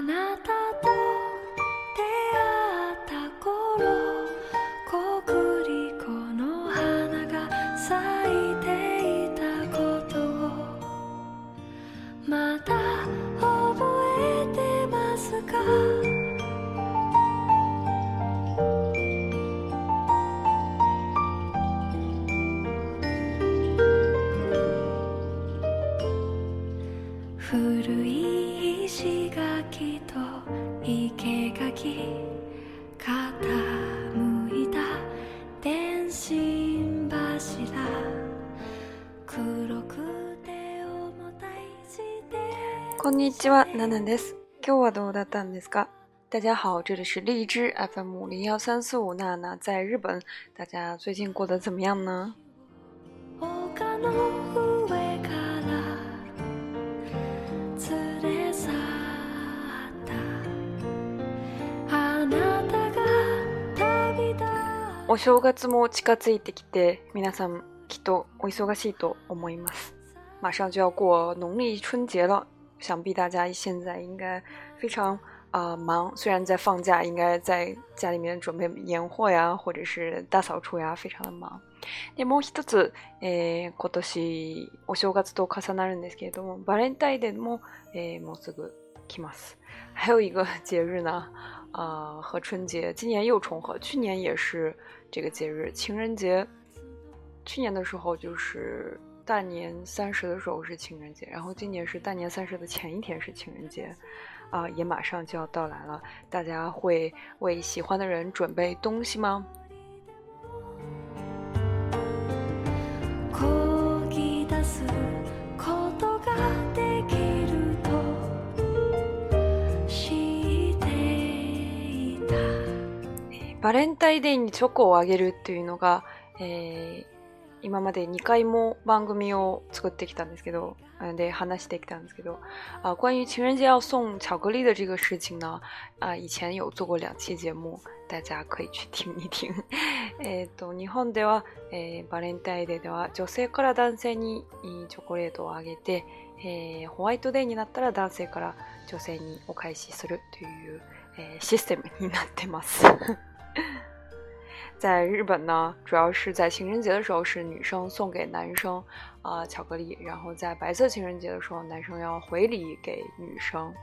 なたと出会った頃コクリコの花が咲いていたことをまだ覚えてますか古い石垣と生垣傾いた電信柱黒くて重たい自転こんにちは、ナナです。今日はどうだったんですか？大家好，这里是荔枝 FM 01345娜娜在日本，大家最近过得怎么样呢？ 丘の上から連れ去ったあなたが旅立お正月も近づいてきて、皆さんきっとお忙しいと思います。马上就要过农历春节了，想必大家现在应该非常忙，虽然在放假，应该在家里面准备年货呀，或者是大扫除呀，非常的忙。でもう一つ、今年お正月と重なるんですけれども、バレンタインデーも、もうすぐ来ます。还有一个节日呢，和春节今年又重合，去年也是这个节日，情人节。去年的时候就是大年30的时候是情人节，然后今年是大年30的前一天是情人节，也马上就要到来了。大家会为喜欢的人准备东西吗？バレンタインデーにチョコをあげるっていうのが、今まで2回も番組を作ってきたんですけど，で話してきたんですけど，关于情人节要送巧克力的这个事情呢，以前有做过2期節目，大家可以去听一听。日本では、バレンタインデーでは女性から男性にチョコレートをあげて、ホワイトデーになったら男性から女性にお返しするという、システムになってます。在日本呢，主要是在情人节的时候是女生送给男生巧克力，然后在白色情人节的时候男生要回礼给女生。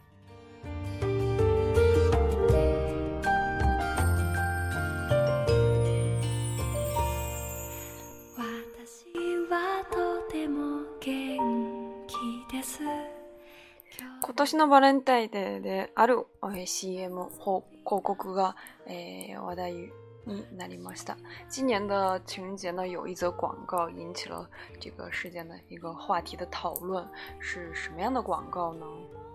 今年のバレンタインデーである CM 広告が、話題になりました。今年的情人节呢，有一则广告引起了这个事件的一个话题的讨论，是什么样的广告呢？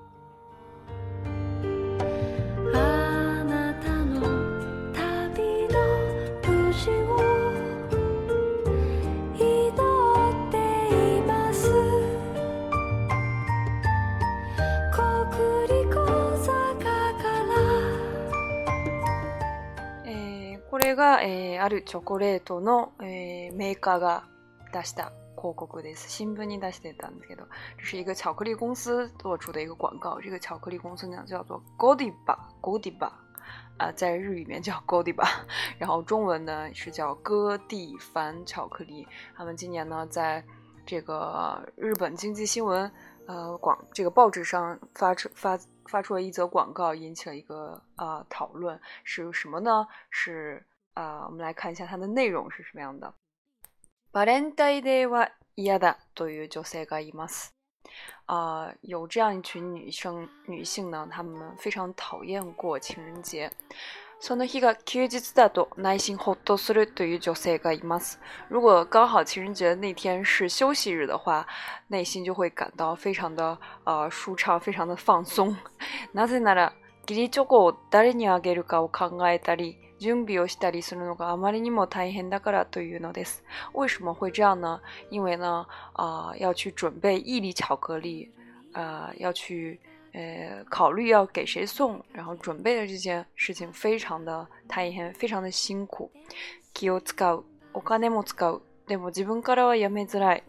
これが、あるチョコレートの、メーカーが出した広告です。新聞に出してたんですけど，这是一个巧克力公司做出的一个广告。这个巧克力公司呢叫做 Godiva， 在日语里面叫 Godiva， 然后中文呢是叫哥蒂凡巧克力。他们今年呢在这个日本经济新闻这个报纸上发出了一则广告，引起了一个讨论，是什么呢？是我们来看一下它的内容是什么样的。バレンタインデーは嫌だという女性がいます。有这样一群女性呢，她们非常讨厌过情人节。その日が休日だと内心ホッとするという女性がいます。如果刚好情人节那天是休息日的话，内心就会感到非常的舒畅，非常的放松。なぜなら義理チョコを誰にあげるかを考えたり準備をしたりするのがあまりにも大変だからというのです。为什么会这样呢？因为呢要去准备义理巧克力，要去考虑要给谁送，然后准备的这件事情非常的大変，非常的辛苦。気を使う、お金も使う。でも自分からはやめづらい。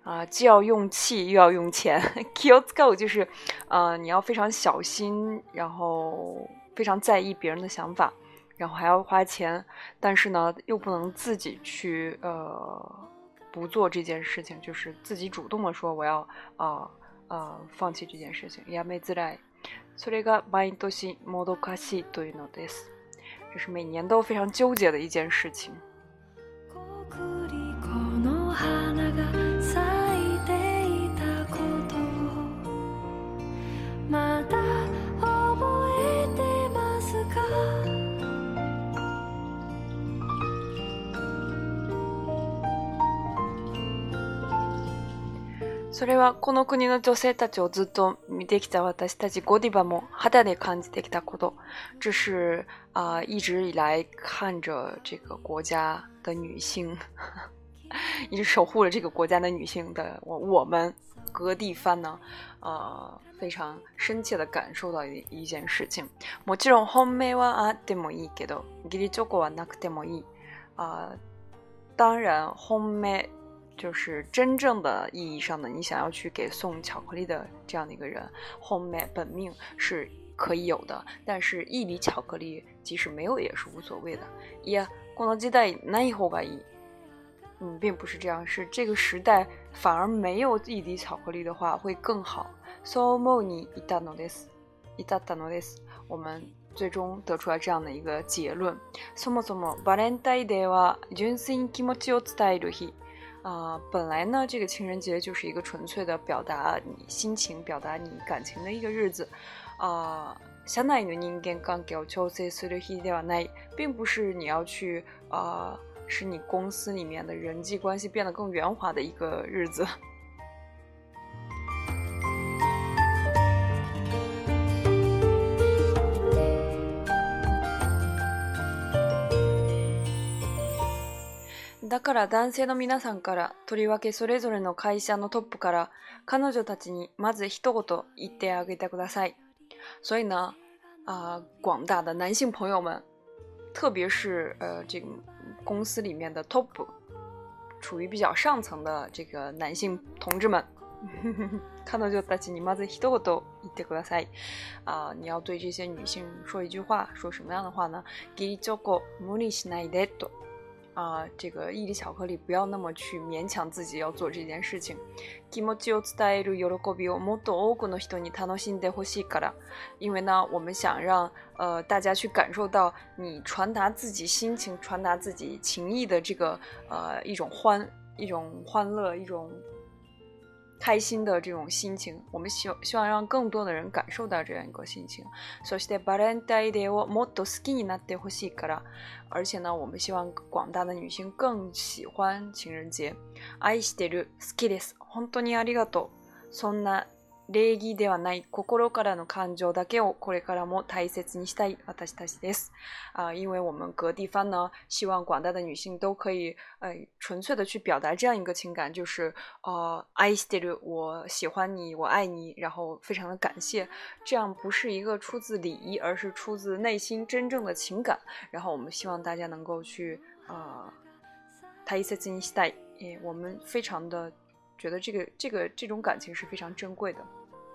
既要用气又要用钱。気を使う就是你要非常小心，然后非常在意别人的想法，然后还要花钱，但是呢又不能自己去不做这件事情，就是自己主动的说我要放弃这件事情。やめづらい。それが毎年もどかしいというのです。这是每年都非常纠结的一件事情。それはこの国の女性たちをずっと見てきた私たちゴディバも肌で感じてきたこと。这是一直以来看着这个国家的女性一直守护着这个国家的女性的我们格地番呢非常深切的感受到一件事情。もちろん本命はあってもいいけど義理チョコはなくてもいい。当然本命就是真正的意义上的你想要去给送巧克力的这样的一个人，本命本命是可以有的，但是一粒巧克力即使没有也是无所谓的。いやこの時代ない方がいい。并不是这样，是这个时代反而没有一粒巧克力的话会更好。そう思うに至ったのです。我们最终得出来这样的一个结论。そもそもバレンタインデーは純粋に気持ちを伝える日。本来呢这个情人节就是一个纯粹的表达你心情表达你感情的一个日子。社内の人間関係を調整する日ではない，并不是你要去使你公司里面的人际关系变得更圆滑的一个日子。だから男性の皆さんから、とりわけそれぞれの会社のトップから、彼女たちにまず一言言ってあげてください。所以呢，广大的男性朋友们，特别是这个公司里面的 top， 处于比较上层的这个男性同志们，彼女たちにまず一言言ってください。你要对这些女性说一句话，说什么样的话呢？義理チョコ無理しないでと。这个一粒巧克力不要那么去勉强自己要做这件事情。気持ちを伝える喜びをもっと多くの人に楽しんでほしいから。因为呢，我们想让大家去感受到你传达自己心情、传达自己情意的这个一种欢乐、一种开心的这种心情，我们希望让更多的人感受到这样一个心情。そしてバレンタインデーをもっと好きになってほしいから。而且呢，我们希望广大的女性更喜欢情人节。愛してる、好きです、本当にありがとう。そんな礼儀ではない心からの感情だけをこれからも大切にしたい私たちです。因为我们格地番呢，希望广大的女性都可以纯粹的去表达这样一个情感，就是愛してる，我喜欢你，我爱你，然后非常的感谢。这样不是一个出自礼仪，而是出自内心真正的情感。然后我们希望大家能够去大切にしたい。我们非常的觉得这种感情是非常珍贵的。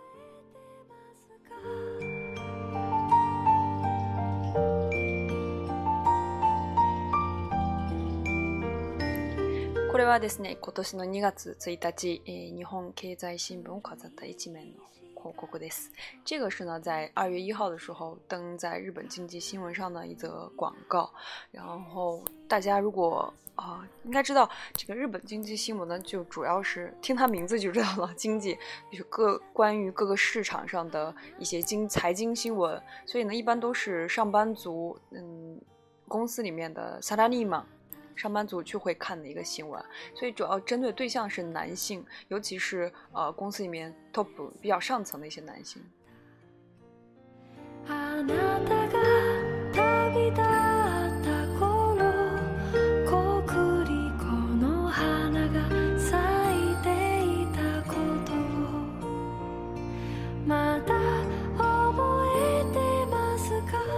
これはですね、今年の2月1日、日本経済新聞を飾った一面の広告です。这个是呢，在2月1号的时候登在日本经济新闻上的一则广告。然后大家如果应该知道，这个日本经济新闻呢，就主要是听它名字就知道了，经济就是关于各个市场上的一些财经新闻，所以呢，一般都是上班族，公司里面的サラリーマン。上班族就会看的一个新闻，所以主要针对对象是男性，尤其是公司里面 top 比较上层的一些男性。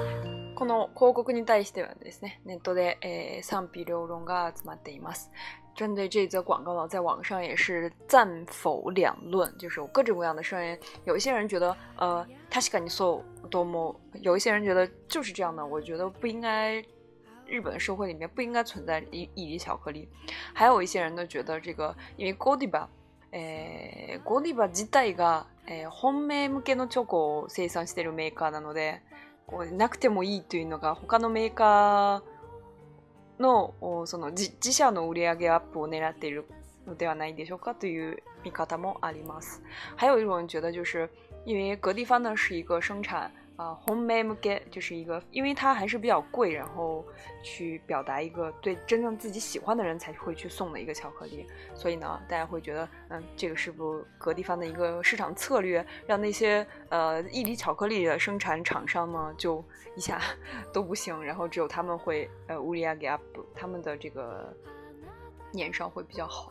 この広告に対してはですね、ネットで賛否両論が集まっています。 针对这则广告呢，在网上也是赞否两论，就是有各种各样的声音。有一些人觉得確かにそうと思う，有一些人觉得就是这样的，我觉得不应该，日本的社会里面不应该存在一粒巧克力。还有一些人呢觉得这个，因为ゴディバ自体が、本命向けのチョコを生産しているメーカーなので、なくてもいいというのが他のメーカーのその自社の売上アップを狙っているのではないでしょうかという見方もあります。还有一种人觉得，就是因为格地方呢是一个生产本命向け，就是一个因为它还是比较贵，然后去表达一个对真正自己喜欢的人才会去送的一个巧克力，所以呢，大家会觉得，这个是不是格地方的一个市场策略，让那些一粒巧克力的生产厂商呢就一下都不行，然后只有他们会売り上げアップ，他们的这个年商会比较好。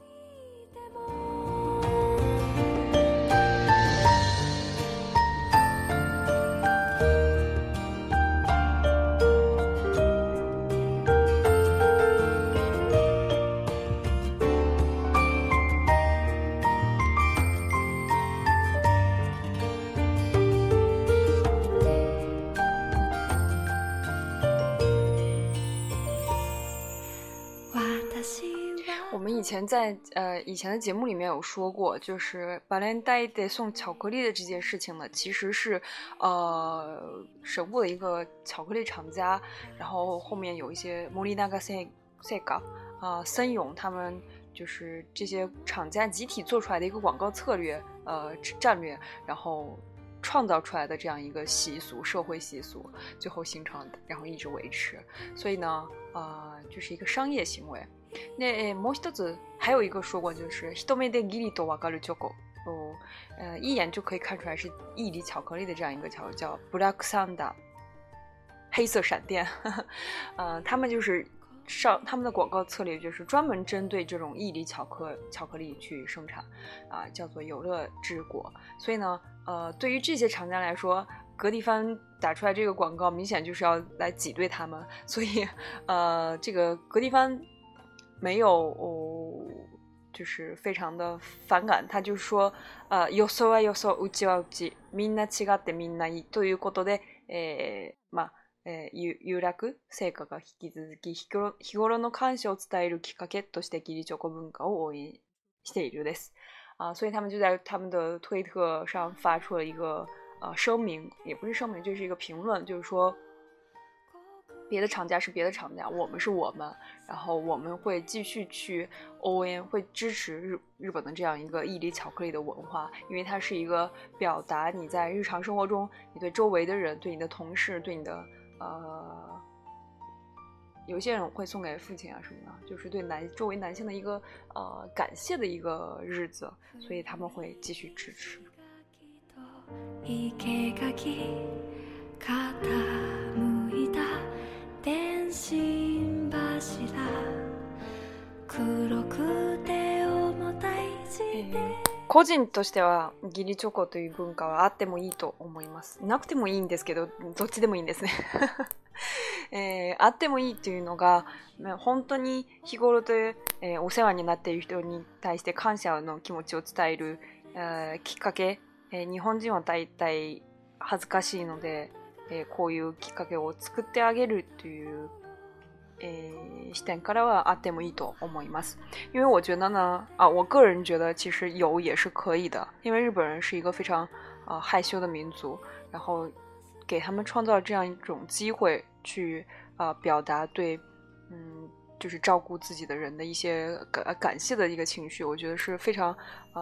我们以前在以前的节目里面有说过，就是バレンタインデー送巧克力的这件事情呢，其实是神户的一个巧克力厂家，然后后面有一些森永森永他们就是这些厂家集体做出来的一个广告策略战略，然后创造出来的这样一个习俗，社会习俗，最后形成，然后一直维持，所以呢就是一个商业行为。那もう一つ还有一个说过，就是一目でギリとわかるチョコ，一眼就可以看出来是一粒巧克力的这样一个巧克力叫 Black Thunder， 黑色闪电。他们就是他们的广告策略就是专门针对这种一粒巧克力去生产叫做有乐之果。所以呢对于这些厂家来说，格地方打出来这个广告明显就是要来挤兑他们，所以这个格地方没有就是非常的反感，他就说予想は予想、うちはうち、みんな違ってみんないいということで有楽成果が引き続き日頃の感謝を伝えるきっかけとして義理チョコ文化を応援しているです。所以他们就在他们的推特上发出了一个声明，也不是声明，就是一个评论，就是说别的厂家是别的厂家，我们是我们，然后我们会继续去応援，会支持日本的这样一个一粒巧克力的文化，因为它是一个表达你在日常生活中，你对周围的人，对你的同事，对你的有些人会送给父亲什么的，就是对周围男性的一个感谢的一个日子，所以他们会继续支持。個人としては義理チョコという文化はあってもいいと思います。なくてもいいんですけど、どっちでもいいんですね。あってもいいというのが本当に日頃で、お世話になっている人に対して感謝の気持ちを伝える、きっかけ、日本人は大体恥ずかしいので、こういうきっかけを作ってあげるという視点からはあってもいいと思います。因为我觉得呢我个人觉得其实有也是可以的，因为日本人是一个非常害羞的民族，然后给他们创造这样一种机会去表达对就是照顾自己的人的一些感谢的一个情绪，我觉得是非常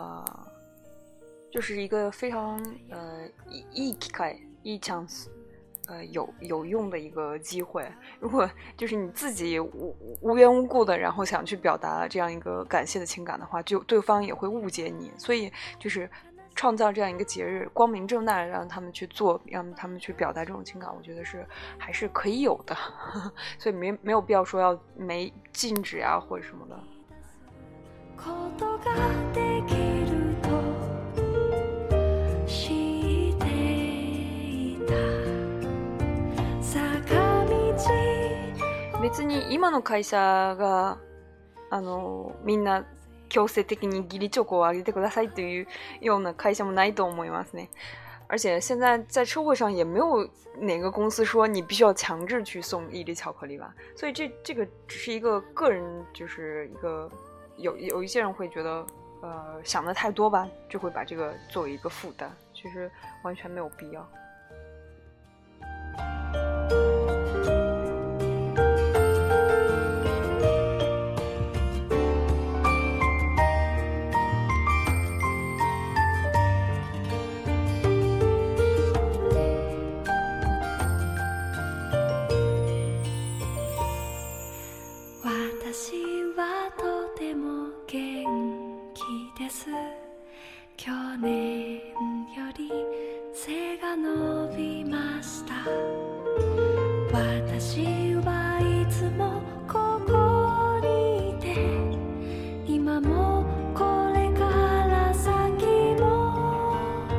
就是一个非常いい機会、いいチャンス。有用的一个机会。如果就是你自己无缘无故的然后想去表达这样一个感谢的情感的话，就对方也会误解你，所以就是创造这样一个节日，光明正大的让他们去做，让他们去表达这种情感，我觉得是还是可以有的。所以没有必要说要禁止或者什么的。別に今の会社がみんな強制的に義理チョコをあげてくださいというような会社もないと思いますね。而且现在在社会上也没有哪个公司说你必须要强制去送伊犁巧克力吧，所以这个只是一个个人，就是一个有一些人会觉得想的太多吧，就会把这个作为一个负担，其实完全没有必要。 私はとても元気です。去年より背が伸びました。私はいつもここにいて、今もこれから先も。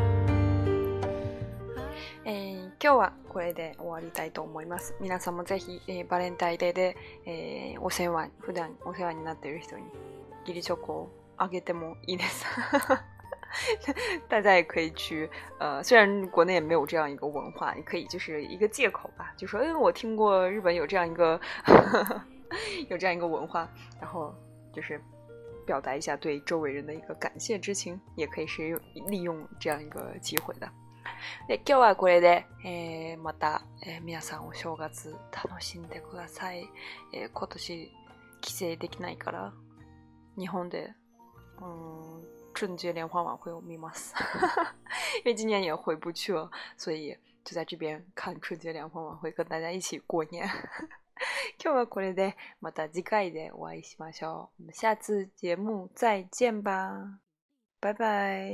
今日はこれで終わりたいと思います。皆さんもぜひ、バレンタインデーで、普段お世話になっている人に義理チョコをあげてもいいです。大家也可以去，虽然国内也没有这样一个文化，你可以就是一个借口吧，就说，我听过日本有这样一个有这样一个文化，然后就是表达一下对周围人的一个感谢之情，也可以是利用这样一个机会的。で今日はこれで、また、皆さんお正月楽しんでください。今年帰省できないから日本で春节联欢晚会我見ます因为今年也回不去了，所以就在这边看春节联欢晚会，跟大家一起过年今日はこれでまた次回でお会いしましょう。我们下次节目再见吧，拜拜。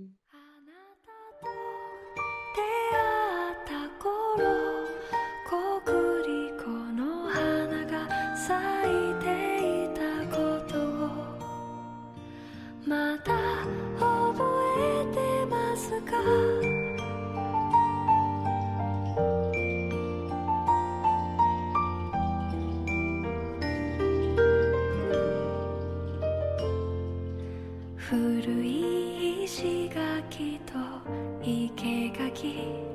出会った頃、コクリコの花が咲いていたことをまだ覚えてますか？古い石垣と生垣